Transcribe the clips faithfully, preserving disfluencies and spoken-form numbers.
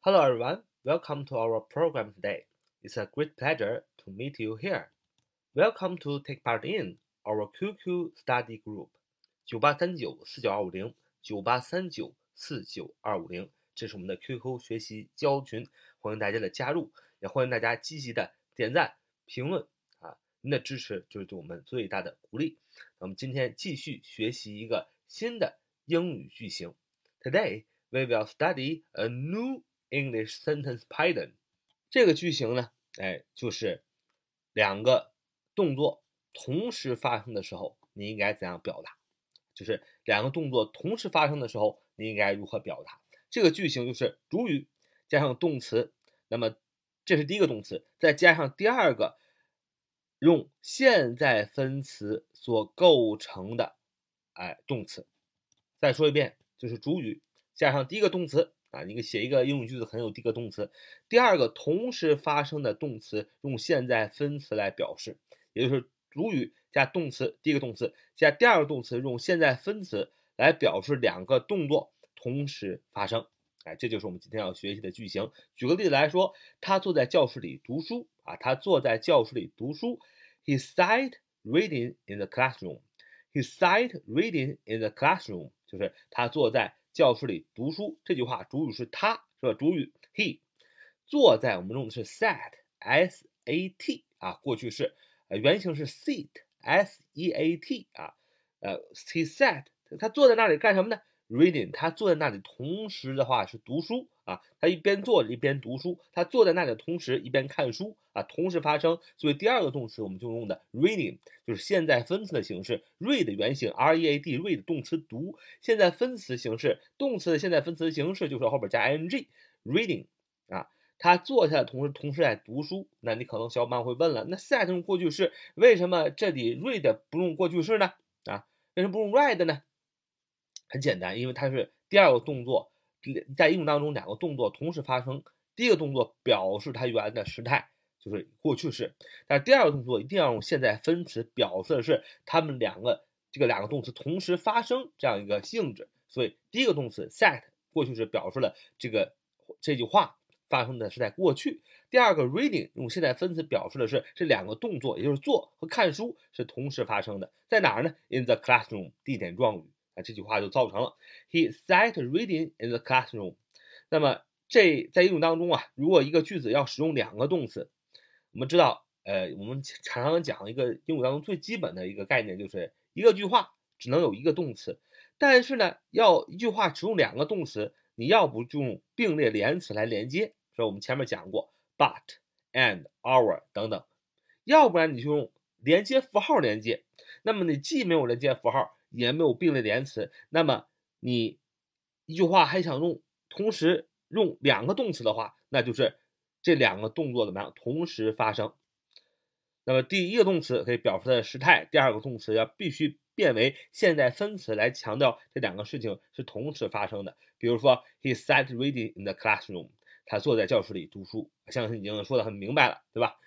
Hello everyone, welcome to our program today. It's a great pleasure to meet you here. Welcome to take part in our Q Q study group 九八三九四九二五零 九八三九四九二五零，这是我们的 Q Q 学习交流群，欢迎大家的加入，也欢迎大家积极的点赞、评论啊，您的支持就是对我们最大的鼓励。那我们今天继续学习一个新的英语句型。Today we will study a new English sentence pattern。 这个句型呢，哎，就是两个动作同时发生的时候，你应该怎样表达？就是两个动作同时发生的时候，你应该如何表达？这个句型就是主语加上动词，那么这是第一个动词，再加上第二个用现在分词所构成的哎动词。再说一遍，就是主语加上第一个动词啊，你写一个英语句子很有第一个动词，第二个同时发生的动词用现在分词来表示，也就是主语加动词，第一个动词加第二个动词用现在分词来表示两个动作同时发生。哎，这就是我们今天要学习的句型。举个例子来说，他坐在教室里读书啊，他坐在教室里读书。He sat reading in the classroom. He sat reading in the classroom. 就是他坐在教室里读书。这句话主语是他，是吧？主语 he。坐在我们用的是 sat s a t 啊，过去式，呃，原型是 sit s e a t 啊，呃 he sat 他坐在那里干什么呢？Reading， 他坐在那里，同时的话是读书啊，他一边坐着一边读书，他坐在那里的同时一边看书啊，同时发生。所以第二个动词我们就用的 reading， 就是现在分词的形式 ，read 原型 R E A D read 动词读，现在分词形式，动词的现在分词形式就是后边加 ing reading 啊，他坐下的同时同时在读书。那你可能小伙伴会问了，那 sat 用过去式，为什么这里 read 不用过去式呢？啊，为什么不用 read 呢？很简单，因为它是第二个动作，在英语当中两个动作同时发生，第一个动作表示它原来的时态，就是过去式，但是第二个动作一定要用现在分词，表示的是它们两个这个两个动词同时发生这样一个性质。所以第一个动词 sat 过去式表示了这个这句话发生的是在过去，第二个 reading 用现在分词表示的是这两个动作，也就是做和看书是同时发生的，在哪儿呢？ In the classroom， 地点状语。啊，这句话就造成了 He sat reading in the classroom。 那么这在英语当中啊，如果一个句子要使用两个动词，我们知道呃，我们常常讲一个英语当中最基本的一个概念，就是一个句话只能有一个动词，但是呢要一句话使用两个动词，你要不就用并列连词来连接，所以我们前面讲过 but and our 等等，要不然你就用连接符号连接，那么你既没有连接符号也没有并列连词，那么你一句话还想用同时用两个动词的话，那就是这两个动作怎么样同时发生。那么第一个动词可以表示它的时态，第二个动词要必须变为现在分词来强调这两个事情是同时发生的。比如说 He sat reading in the classroom， 他坐在教室里读书，相信已经说得很明白了，对吧？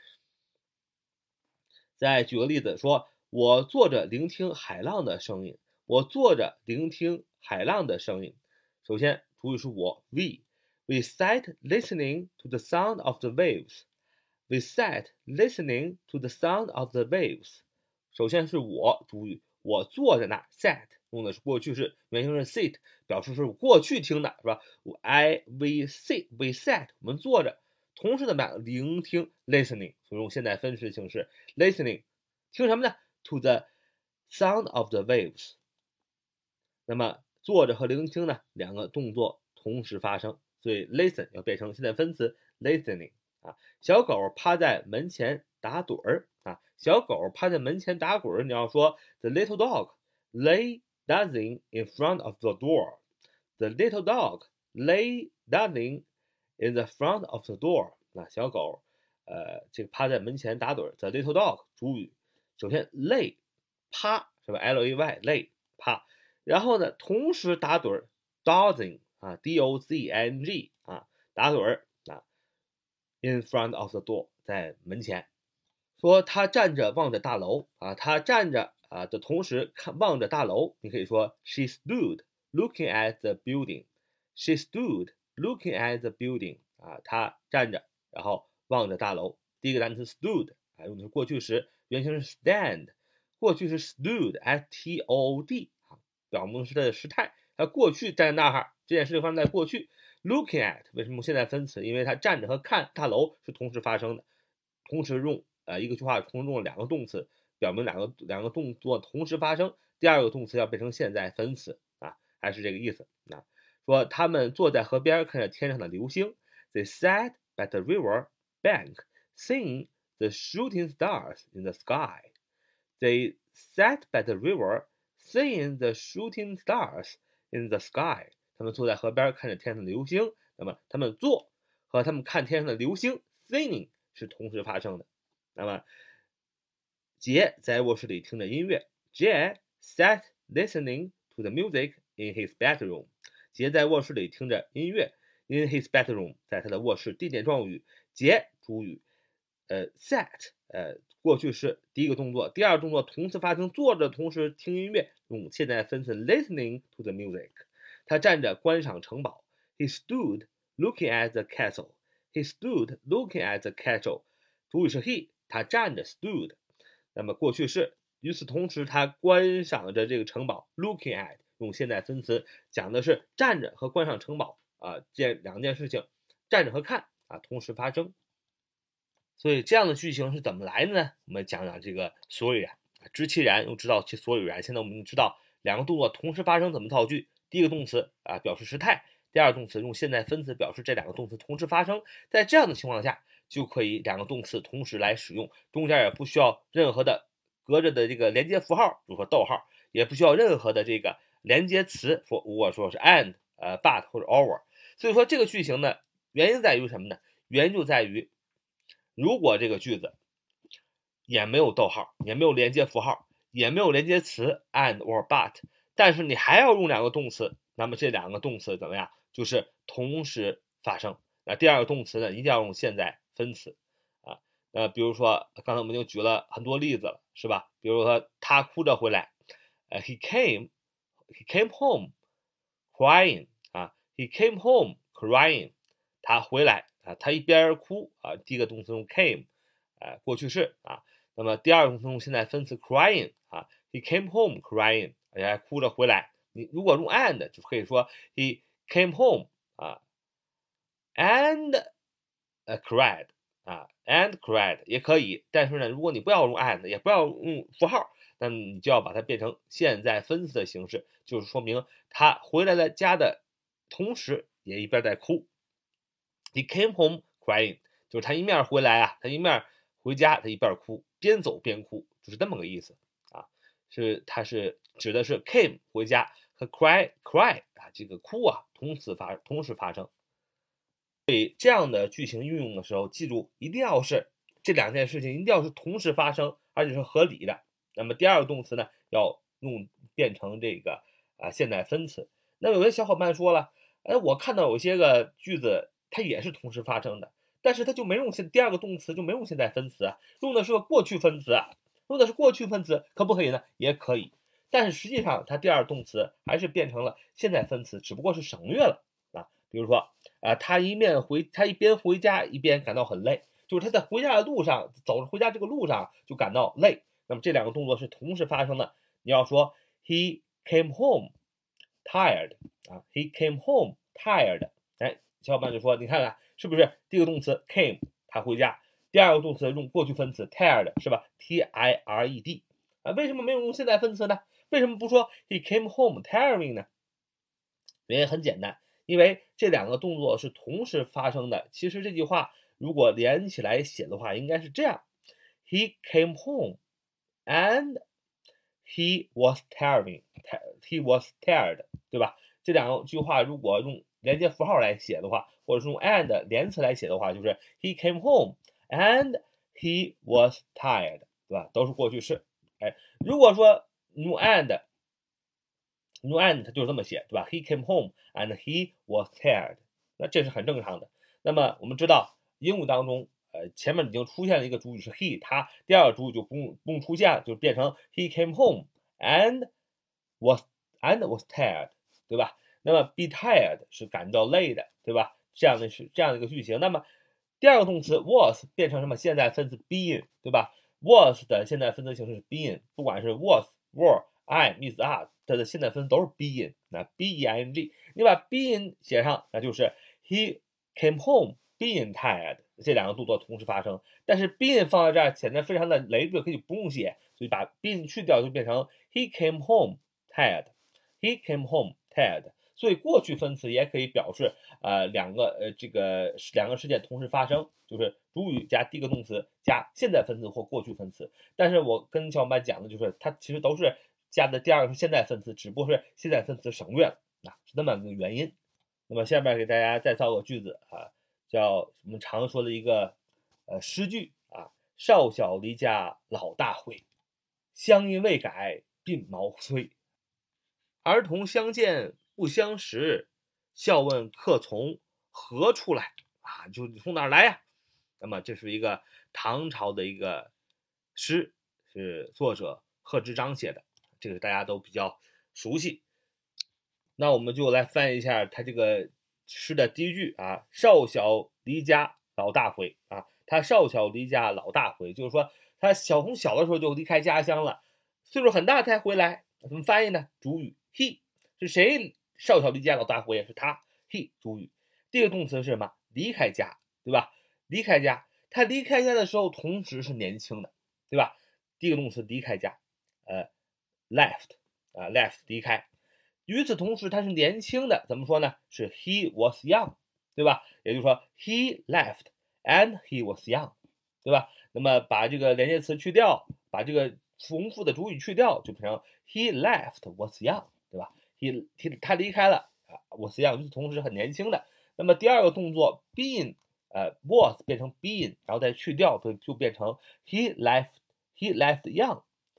再举个例子说，我坐着聆听海浪的声音。我坐着聆听海浪的声音。首先主语是我 we we sat listening to the sound of the waves. We sat listening to the sound of the waves. 首先是我主语，我坐在那 sat 用的是过去式，原型是 sit， 表示是过去听的，是吧？ I we sit we sat 我们坐着，同时怎么样聆听 listening， 所以用现在分词形式 listening 听什么呢？ To the sound of the waves。 那么坐着和聆听呢两个动作同时发生，所以 listen 要变成现在分词 listening 啊。小狗趴在门前打盹儿啊，小狗趴在门前打滚，你要说 the little dog lay dozing in front of the door。 The little dog lay dozing in the front of the door。 那小狗呃，这个趴在门前打盹。 The little dog 主语，首先 lay 趴是吧 L A Y lay 趴，然后呢同时打盹 dozing 啊 D O Z I N G 啊打盹啊 in front of the door 在门前。说他站着望着大楼啊，他站着啊的同时看望着大楼，你可以说 she stood looking at the building。 She stood looking at the building 啊，他站着，然后望着大楼。第一个单词 stood 啊，用的是过去时，原型是 stand， 过去是 stood，s t o o d 啊，表明是它的时态，它过去站在那儿，这件事情发生在过去。looking at 为什么现在分词？因为它站着和看大楼是同时发生的，同时用呃一个句话同时用了两个动词，表明两个两个动作同时发生。第二个动词要变成现在分词啊，还是这个意思啊。说他们坐在河边看着天上的流星 ，They sat by the river bank, seeing the shooting stars in the sky. They sat by the river, seeing the shooting stars in the sky. 他们坐在河边看着天上的流星。那么他们坐和他们看天上的流星 ，seeing 是同时发生的。那么杰在卧室里听着音乐 ，Jay sat listening to the music in his bedroom. 杰在卧室里听着音乐 ，in his bedroom， 在他的卧室。地点状语，杰主语，呃 ，sat， 呃，过去式，第一个动作，第二个动作同时发生，坐着同时听音乐，用现在分词 listening to the music。他站着观赏城堡 ，he stood looking at the castle. He stood looking at the castle。主语是 he， 他站着 stood。那么过去式，与此同时，他观赏着这个城堡 ，looking at。用现在分词讲的是站着和观赏城堡啊，这两件事情，站着和看啊同时发生。所以这样的句型是怎么来的呢？我们讲讲这个所以然，知其然又知道其所以然。现在我们知道两个动作同时发生怎么造句。第一个动词啊表示时态，第二个动词用现在分词表示这两个动词同时发生。在这样的情况下，就可以两个动词同时来使用，中间也不需要任何的隔着的这个连接符号，比如说逗号，也不需要任何的这个连接词，说如果说是 and 呃 but 或者 or。 所以说这个句型呢，原因在于什么呢？原因就在于如果这个句子也没有逗号，也没有连接符号，也没有连接词 and or but， 但是你还要用两个动词，那么这两个动词怎么样？就是同时发生。那第二个动词呢，一定要用现在分词啊。呃，比如说刚才我们就举了很多例子了，是吧？比如说他哭着回来，呃 he came He came home crying 啊 ，He came home crying， 他回来啊，他一边哭啊，第一个动词用 came， 啊，过去式啊，那么第二个动词用现在分词 crying 啊 ，He came home crying， 而且还哭着回来。你如果用 and 就可以说 He came home 啊 ，and uh, cried 啊 ，and cried 也可以，但是呢，如果你不要用 and， 也不要用符号。那你就要把它变成现在分词的形式，就是说明他回来了家的同时也一边在哭。He came home crying， 就是他一面回来啊，他一面回家，他一边哭，边走边哭，就是这么个意思啊。是它是指的是 came 回家和 cry cry 啊，这个哭啊同时发同时发生。所以这样的句型运用的时候，记住一定要是这两件事情一定要是同时发生，而且是合理的。那么第二个动词呢，要用变成这个啊现在分词。那有些小伙伴说了，哎，我看到有些个句子它也是同时发生的，但是它就没用现第二个动词就没用现在分词啊，用的是个过去分词啊，用的是过去分词，可不可以呢？也可以，但是实际上它第二动词还是变成了现在分词，只不过是省略了啊。比如说啊，他一面回他一边回家一边感到很累，就是他在回家的路上走着回家这个路上就感到累。那么这两个动作是同时发生的，你要说 he came home tired 啊 ，he came home tired， 哎，小伙伴就说你看看是不是第一个动词 came 他回家，第二个动词用过去分词 tired 是吧 ？T I R E D 啊，为什么没有用现在分词呢？为什么不说 he came home tiring 呢？原因很简单，因为这两个动作是同时发生的。其实这句话如果连起来写的话，应该是这样 ：He came home。And he was tiring, he was tired， 对吧？这两句话如果用连接符号来写的话，或者是用 and 连词来写的话，就是 he came home and he was tired， 对吧？都是过去式。哎，如果说用 and， 用 and 它就是这么写，对吧 ？He came home and he was tired， 那这是很正常的。那么我们知道英语当中。呃，前面已经出现了一个主语是 he， 他第二个主语就不用不用出现了，就变成 he came home and was and was tired， 对吧？ 那么 be tired 是感到累的，对吧？这样的是这样的一个句型。那么第二个动词 was 变成什么现在分词 being， 对吧？ was 的现在分词形式是 being， 不管是 was were am is are， 它的现在分词都是 being， 那 b e i n g， 你把 being 写上，那就是 he came home being tired， 这两个动作同时发生。但是 being 放在这儿显得非常的累赘，可以不用写，所以把 being 去掉就变成 he came home tired， he came home tired。所以过去分词也可以表示呃两个呃这个两个事件同时发生，就是主语加第一个动词加现在分词或过去分词。但是我跟小伙伴讲的就是，它其实都是加的第二个是现在分词，只不过是现在分词省略了，啊，是那么个原因。那么下面给大家再造个句子啊，叫我们常说的一个呃诗句啊：少小离家老大回，乡音未改鬓毛衰。儿童相见不相识，笑问客从何处来啊？就你从哪儿来呀？那么这是一个唐朝的一个诗，是作者贺知章写的，这个大家都比较熟悉。那我们就来翻译一下他这个诗的第一句啊：少小离家老大回啊。他少小离家老大回，就是说他小从小的时候就离开家乡了，岁数很大才回来。怎么翻译呢？主语 he 是谁少小离家老大回？是他 he 主语。第一个动词是什么？离开家，对吧？离开家，他离开家的时候同时是年轻的，对吧？第一个动词离开家，呃 left 啊 left 离开。与此同时他是年轻的，怎么说呢？是 he was young， 对吧？也就是说 he left and he was young， 对吧？那么把这个连接词去掉，把这个重复的主语去掉，就变成 he left was young， 对吧？ he, he 他离开了啊 was young， 与此同时很年轻的。那么第二个动作 being 呃 was 变成 being， 然后再去掉，就就变成 he left he left young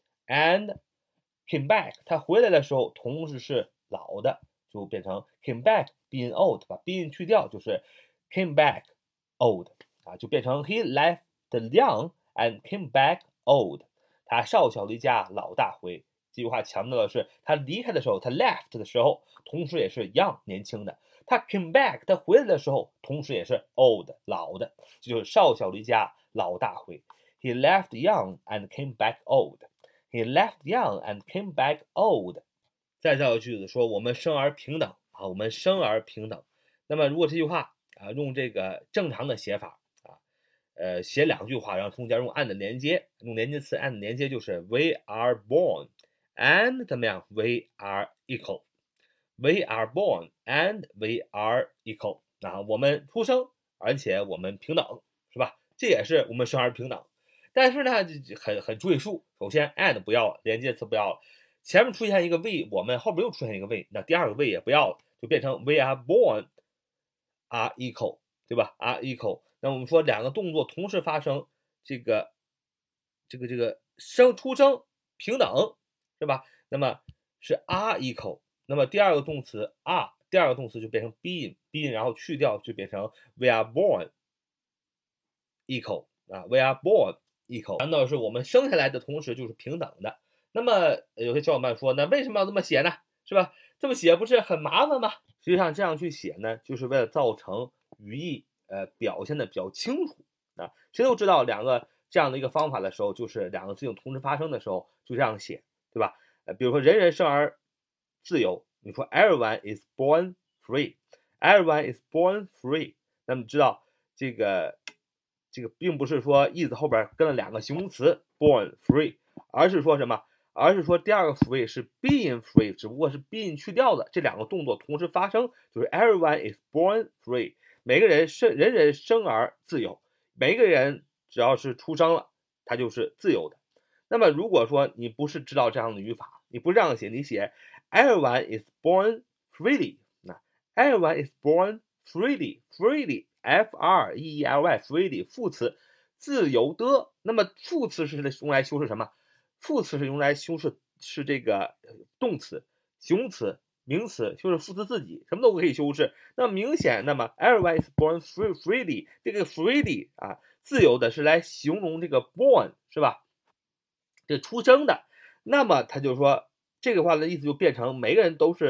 and came back， 他回来的时候同时是老的，就变成 came back being old， 把 being 去掉就是 came back old 啊，就变成 he left young and came back old。 他少小离家老大回，这句话强调的是他离开的时候，他 left 的时候同时也是 young 年轻的，他 came back 他回来的时候同时也是 old 老的，这就是少小离家老大回。 he left young and came back old， he left young and came back old。 再造个句子说我们生而平等啊，我们生而平等。那么如果这句话啊用这个正常的写法啊，呃写两句话，然后中间用 and 连接，用连接词 and 连接就是 we are born and 怎么样 we are equal， we are born and we are equal 啊，我们出生而且我们平等，是吧？这也是我们生而平等。但是呢很很赘述，首先 and 不要了，连接词不要了，前面出现一个 we， 我们后边又出现一个 we， 那第二个 we 也不要了，就变成 we are born are equal， 对吧？ are equal。 那我们说两个动作同时发生，这个这个这个生出生平等，是吧？那么是 are equal。 那么第二个动词 are， 第二个动词就变成 being being， 然后去掉就变成 we are born equal 啊 we are born equal， 难道是我们生下来的同时就是平等的？那么有些小伙伴说，那为什么要这么写呢？是吧？这么写不是很麻烦吗？实际上这样去写呢，就是为了造成语义呃表现的比较清楚啊。谁都知道两个这样的一个方法的时候，就是两个事情同时发生的时候就这样写，对吧？呃，比如说人人生而自由，你说 everyone is born free， everyone is born free， 那么知道这个这个并不是说 is 后边跟了两个形容词 born free， 而是说什么？而是说第二个 free 是 being free， 只不过是 being 去掉的，这两个动作同时发生，就是 everyone is born free， 每个人生人人生而自由，每个人只要是出生了，他就是自由的。那么如果说你不是知道这样的语法，你不这样写，你写 everyone is born freely， 那 everyone is born freely freely f r e e l y freely 副词自由的，那么副词是用来修饰什么？副词是用来修饰是这个动词、形容词、名词，修饰副词自己，什么都可以修饰。那么明显，那么 everyone is born free freely 这个 freely 啊，自由的是来形容这个 born 是吧？这出生的，那么他就说这个话的意思就变成每个人都是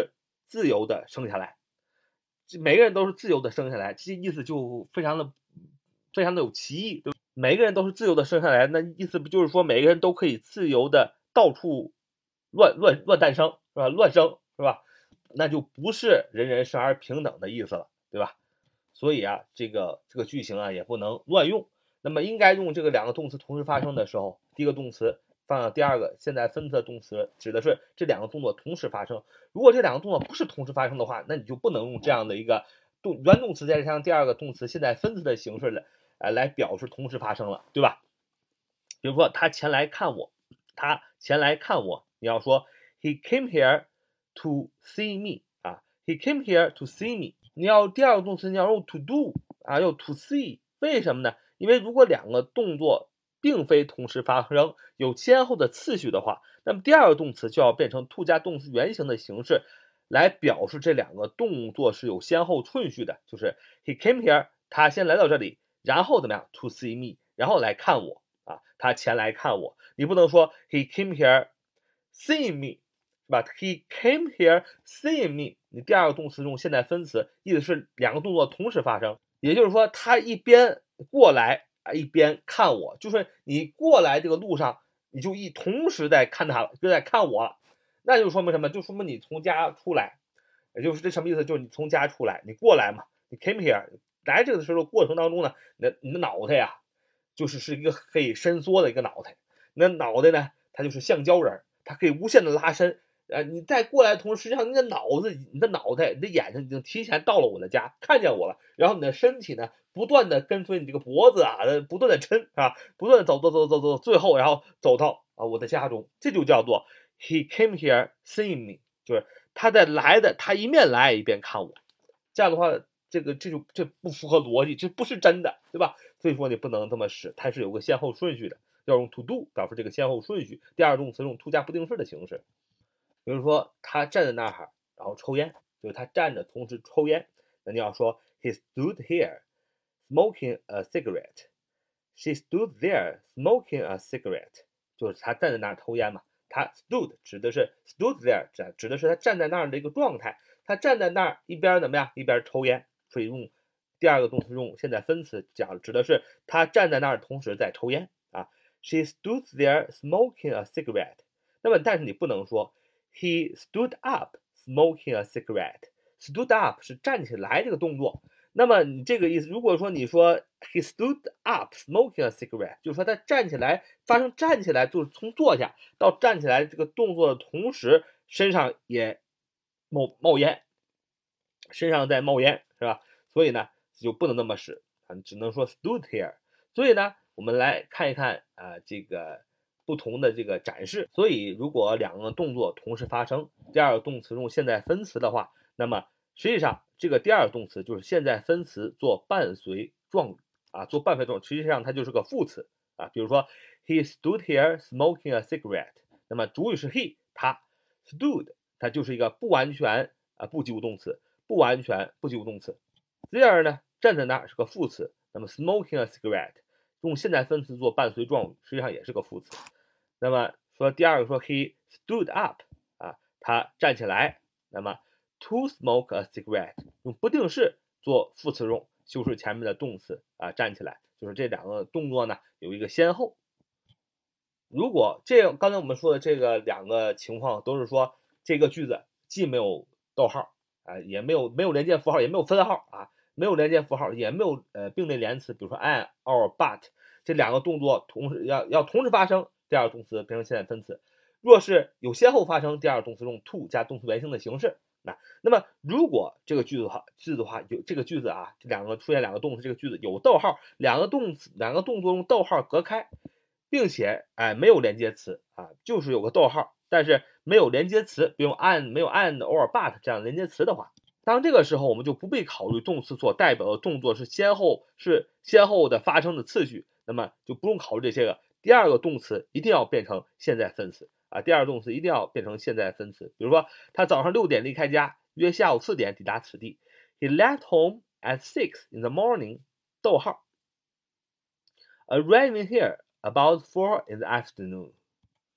自由的生下来。每个人都是自由的生下来，这意思就非常的非常的有歧义，对吧？每个人都是自由的生下来，那意思不就是说每个人都可以自由的到处乱乱乱诞生，是吧？乱生，是吧？那就不是人人生而平等的意思了，对吧？所以啊，这个这个句型啊也不能乱用。那么应该用这个两个动词同时发生的时候，第一个动词放到第二个现在分词的动词，指的是这两个动作同时发生。如果这两个动作不是同时发生的话，那你就不能用这样的一个动原动词再加上第二个动词现在分词的形式来呃来表示同时发生了，对吧？比如说他前来看我，他前来看我，你要说 he came here to see me 啊 ，he came here to see me。你要第二个动词你要用 to do 啊，用 to see， 为什么呢？因为如果两个动作并非同时发生，有先后的次序的话，那么第二个动词就要变成 to 加动词原形的形式来表示这两个动作是有先后顺序的，就是 he came here， 他先来到这里，然后怎么样 to see me， 然后来看我啊，他前来看我。你不能说 he came here seeing me， 是吧？ he came here seeing me， 你第二个动词用现在分词，意思是两个动作同时发生，也就是说他一边过来啊一边看我，就是你过来这个路上你就一同时在看他了，就在看我了，那就说明什么？就说明你从家出来，也就是这什么意思？就是你从家出来，你过来嘛，你 came here 来这个时候过程当中呢，你的你的脑袋呀，就是是一个可以伸缩的一个脑袋，你的脑袋呢，它就是橡胶人，它可以无限的拉伸。呃，你再过来的同时，实际上你的脑子、你的脑袋、你的眼睛已经提前到了我的家，看见我了。然后你的身体呢，不断的跟随你这个脖子啊，不断的抻啊，不断的走走走走走，最后然后走到啊我的家中，这就叫做 he came here seeing me， 就是他在来的，他一面来一边看我。这样的话，这个这就这不符合逻辑，这不是真的，对吧？所以说你不能这么使，它是有个先后顺序的，要用 to do 表示这个先后顺序。第二动词用 to 加不定式的形式。比如说他站在那儿，然后抽烟，就是他站着同时抽烟，那你要说 he stood here smoking a cigarette， she stood there smoking a cigarette， 就是他站在那儿抽烟嘛。他 stood 指的是 stood there 指的是他站在那儿的一个状态，他站在那儿一边怎么样，一边抽烟，所以用第二个动词用现在分词讲，指的是他站在那儿同时在抽烟啊。She stood there smoking a cigarette。那么但是你不能说He stood up smoking a cigarette。 stood up 是站起来这个动作，那么你这个意思，如果说你说 he stood up smoking a cigarette， 就是说他站起来，发生站起来就是从坐下到站起来这个动作的同时，身上也冒冒烟，身上在冒烟，是吧？所以呢就不能那么使啊，只能说 stood here。 所以呢我们来看一看啊这个不同的这个展示。所以如果两个动作同时发生，第二个动词用现在分词的话，那么实际上这个第二个动词就是现在分词做伴随状语啊，做伴随状语，实际上它就是个副词啊。比如说 he stood here smoking a cigarette， 那么主语是 he， 他 stood 它就是一个不完全啊不及物动词，不完全不及物动词。there 呢站在那儿是个副词，那么 smoking a cigarette用现在分词做伴随状语，实际上也是个副词。那么说第二个说 he stood up 啊，他站起来，那么 to smoke a cigarette 用不定式做副词用，修饰前面的动词啊，站起来，就是这两个动作呢有一个先后。如果这刚才我们说的这个两个情况都是说这个句子既没有逗号啊，也没有没有连接符号，也没有分号啊，没有连接符号，也没有呃并列连词，比如说 and or but 这两个动作同时要要同时发生，第二个动词变成现在分词。若是有先后发生，第二个动词用 to 加动词原形的形式。那那么如果这个句子的话，句子的话有这个句子啊，这两个出现两个动词，这个句子有逗号，两个动词两个动作用逗号隔开，并且哎没有连接词啊，就是有个逗号，但是没有连接词，比如 and 没有 and or but 这样连接词的话，当这个时候我们就不必考虑动词所代表的动作是先后是先后的发生的次序，那么就不用考虑这些个。第二个动词一定要变成现在分词啊，第二个动词一定要变成现在分词。比如说他早上六点离开家，约下午四点抵达此地。He left home at six in the morning， 逗号 arriving here about four in the afternoon。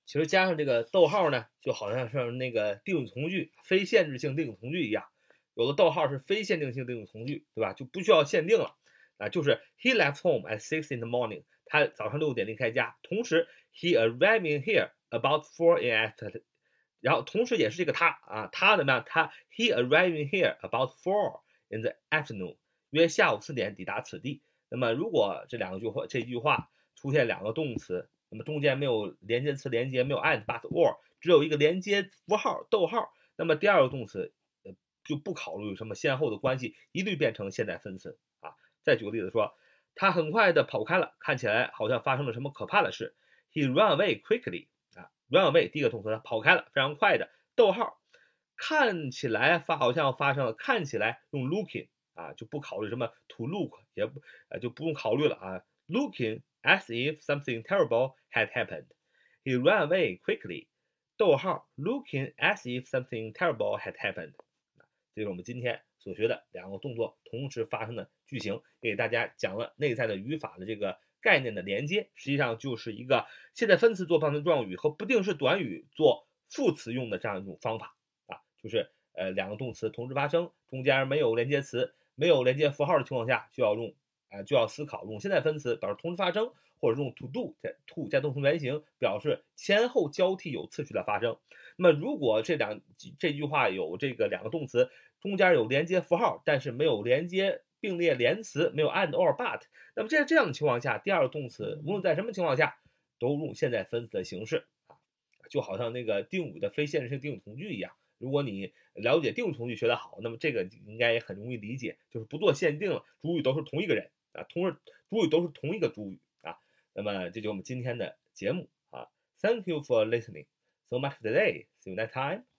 其实加上这个逗号呢，就好像是那个定语从句、非限制性定语从句一样。有的逗号是非限定性定语从句，对吧？就不需要限定了啊。就是 He left home at six in the morning， 他早上六点离开家。同时 He arriving here about four in the afternoon， 然后同时也是这个他啊，他怎么样？他 He arriving here about four in the afternoon， 约下午四点抵达此地。那么如果这两句话这句话出现两个动词，那么中间没有连接词连接，没有 and but or， 只有一个连接符号逗号，那么第二个动词呃就不考虑什么先后的关系，一律变成现在分词啊。再举个例子说，他很快的跑开了，看起来好像发生了什么可怕的事。He ran away quickly 啊 ，run away 第一个动词，他跑开了，非常快的，逗号，看起来发好像发生了，看起来用 looking 啊，就不考虑什么 to look， 也不呃就不用考虑了啊 ，looking as if something terrible had happened. He ran away quickly. 逗号 looking as if something terrible had happened. 这是我们今天所学的两个动作同时发生的句型，给大家讲了内在的语法的这个概念的连接，实际上就是一个现在分词做旁听状语和不定式短语做副词用的这样一种方法啊，就是呃两个动词同时发生，中间没有连接词、没有连接符号的情况下，就要用啊、呃、就要思考用现在分词表示同时发生，或者用 to do 加 to 加动词原形表示前后交替有次序的发生。那么如果这两这句话有这个两个动词中间有连接符号，但是没有连接并列连词，没有 and or but， 那么在这样的情况下，第二个动词无论在什么情况下都用现在分词的形式啊，就好像那个定语的非限制性定语从句一样。如果你了解定语从句学得好，那么这个应该也很容易理解，就是不做限定了，主语都是同一个人啊，同时主语都是同一个主语啊。那么这就是我们今天的节目啊。Thank you for listening so much today. See you next time.